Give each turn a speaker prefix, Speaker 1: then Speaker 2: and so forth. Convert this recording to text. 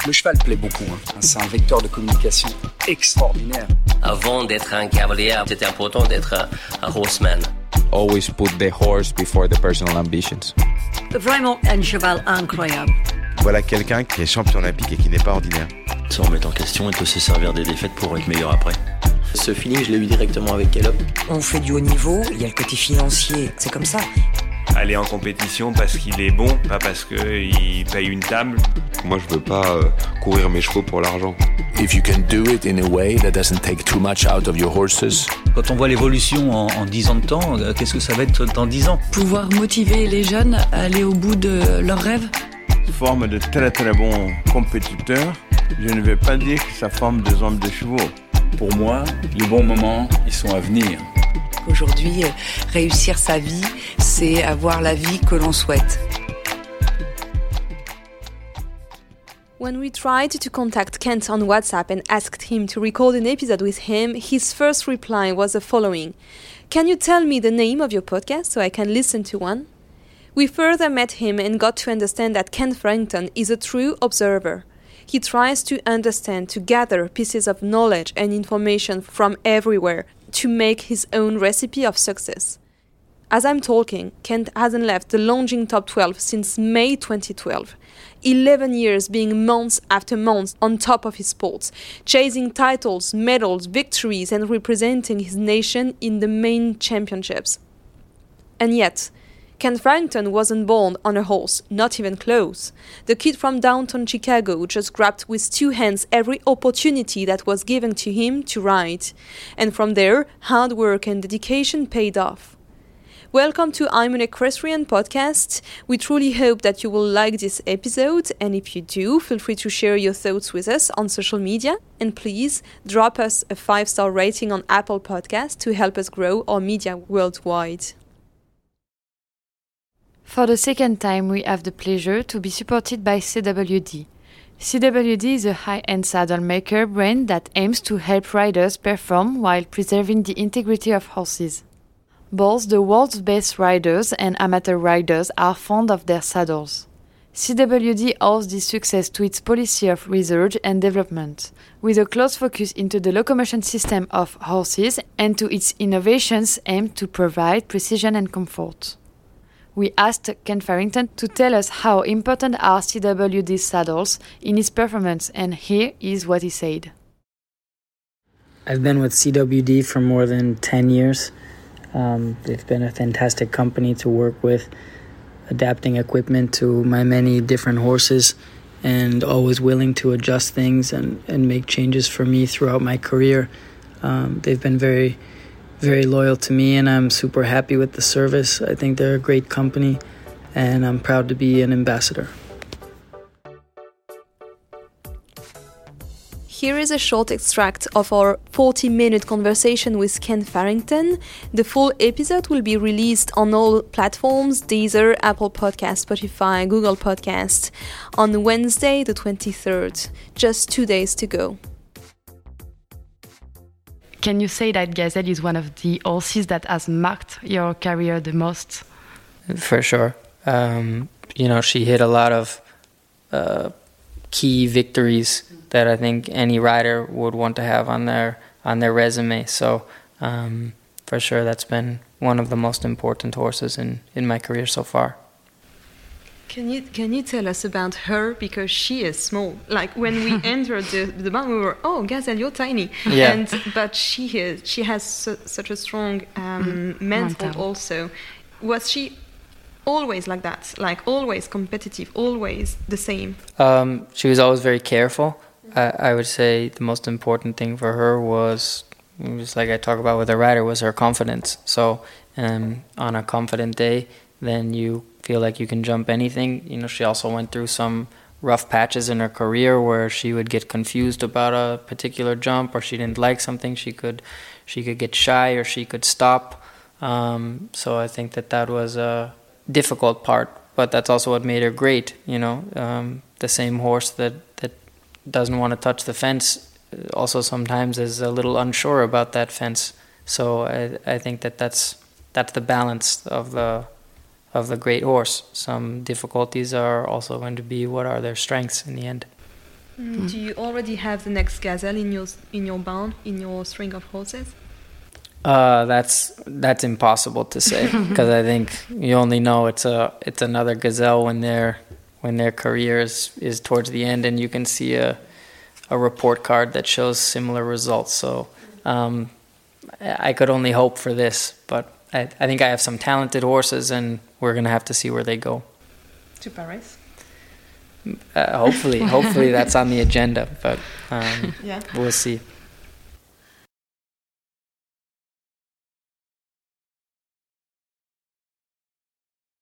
Speaker 1: Le cheval plaît beaucoup, hein. C'est un vecteur de communication extraordinaire.
Speaker 2: Avant d'être un cavalier, c'était important d'être un horseman.
Speaker 3: Always put the horse before the personal ambitions.
Speaker 4: Vraiment un cheval incroyable.
Speaker 5: Voilà quelqu'un qui est champion olympique et qui n'est pas ordinaire.
Speaker 6: Se remettre en question et peut se servir des défaites pour être meilleur après.
Speaker 7: Ce feeling, je l'ai eu directement avec Caleb.
Speaker 8: On fait du haut niveau, il y a le côté financier, c'est comme ça.
Speaker 9: Aller en compétition parce qu'il est bon, pas parce qu'il paye une table.
Speaker 5: Moi, je veux pas courir mes chevaux pour l'argent.
Speaker 10: If you can do it in a way that doesn't take too much out of your horses.
Speaker 11: Quand on voit l'évolution en 10 ans de temps, qu'est-ce que ça va être dans 10 ans ?
Speaker 12: Pouvoir motiver les jeunes à aller au bout de leurs rêves.
Speaker 13: Forme de très très bons compétiteurs. Je ne vais pas dire que ça forme des hommes de chevaux.
Speaker 14: Pour moi, les bons moments, ils sont à venir.
Speaker 15: Aujourd'hui, réussir sa vie, c'est avoir la vie que l'on souhaite.
Speaker 16: When we tried to contact Kent on WhatsApp and asked him to record an episode with him, his first reply was the following: "Can you tell me the name of your podcast so I can listen to one?" We further met him and got to understand that Kent Farrington is a true observer. He tries to understand, to gather pieces of knowledge and information from everywhere to make his own recipe of success. As I'm talking, Kent hasn't left the Longines Top 12 since May 2012. 11 years being months after months on top of his sports, chasing titles, medals, victories, and representing his nation in the main championships. And yet, Kent Farrington wasn't born on a horse, not even close. The kid from downtown Chicago just grabbed with two hands every opportunity that was given to him to ride. And from there, hard work and dedication paid off. Welcome to I'm an Equestrian podcast. We truly hope that you will like this episode, and if you do, feel free to share your thoughts with us on social media, and please drop us a 5-star rating on Apple Podcasts to help us grow our media worldwide.
Speaker 17: For the second time, we have the pleasure to be supported by CWD. CWD is a high-end saddle maker brand that aims to help riders perform while preserving the integrity of horses. Both the world's best riders and amateur riders are fond of their saddles. CWD owes this success to its policy of research and development, with a close focus into the locomotion system of horses and to its innovations aimed to provide precision and comfort. We asked Kent Farrington to tell us how important are CWD saddles in his performance, and here is what he said.
Speaker 18: I've been with CWD for more than 10 years. They've been a fantastic company to work with, adapting equipment to my many different horses and always willing to adjust things and make changes for me throughout my career. They've been very loyal to me, and I'm super happy with the service. I think they're a great company, and I'm proud to be an ambassador.
Speaker 16: Here is a short extract of our 40-minute conversation with Kent Farrington. The full episode will be released on all platforms: Deezer, Apple Podcasts, Spotify, Google Podcasts, on Wednesday the 23rd. Just 2 days to go.
Speaker 17: Can you say that Gazelle is one of the horses that has marked your career the most?
Speaker 18: For sure. She hit a lot of key victories that I think any rider would want to have on their resume. So for sure, that's been one of the most important horses in my career so far.
Speaker 16: Can you tell us about her, because she is small? Like when we entered the barn, we were, oh, Gazelle, you're tiny.
Speaker 18: Yeah.
Speaker 16: But she has such a strong mental also. Was she always like that? Like always competitive, always the same?
Speaker 18: She was always very careful. I would say the most important thing for her was, just like I talk about with a rider, was her confidence. So on a confident day, then you feel like you can jump anything. She also went through some rough patches in her career where she would get confused about a particular jump, or she didn't like something. She could get shy, or she could stop. So I think that was a difficult part, but that's also what made her great. The same horse that doesn't want to touch the fence also sometimes is a little unsure about that fence. So I think that's the balance of the great horse. Some difficulties are also going to be what are their strengths in the end.
Speaker 16: Do you already have the next gazelle in your barn, in your string of horses?
Speaker 18: That's impossible to say because I think you only know it's another gazelle when their career is towards the end, and you can see a report card that shows similar results. So I could only hope for this, but I think I have some talented horses, and we're gonna have to see where they go.
Speaker 16: To Paris.
Speaker 18: Hopefully that's on the agenda, but we'll see.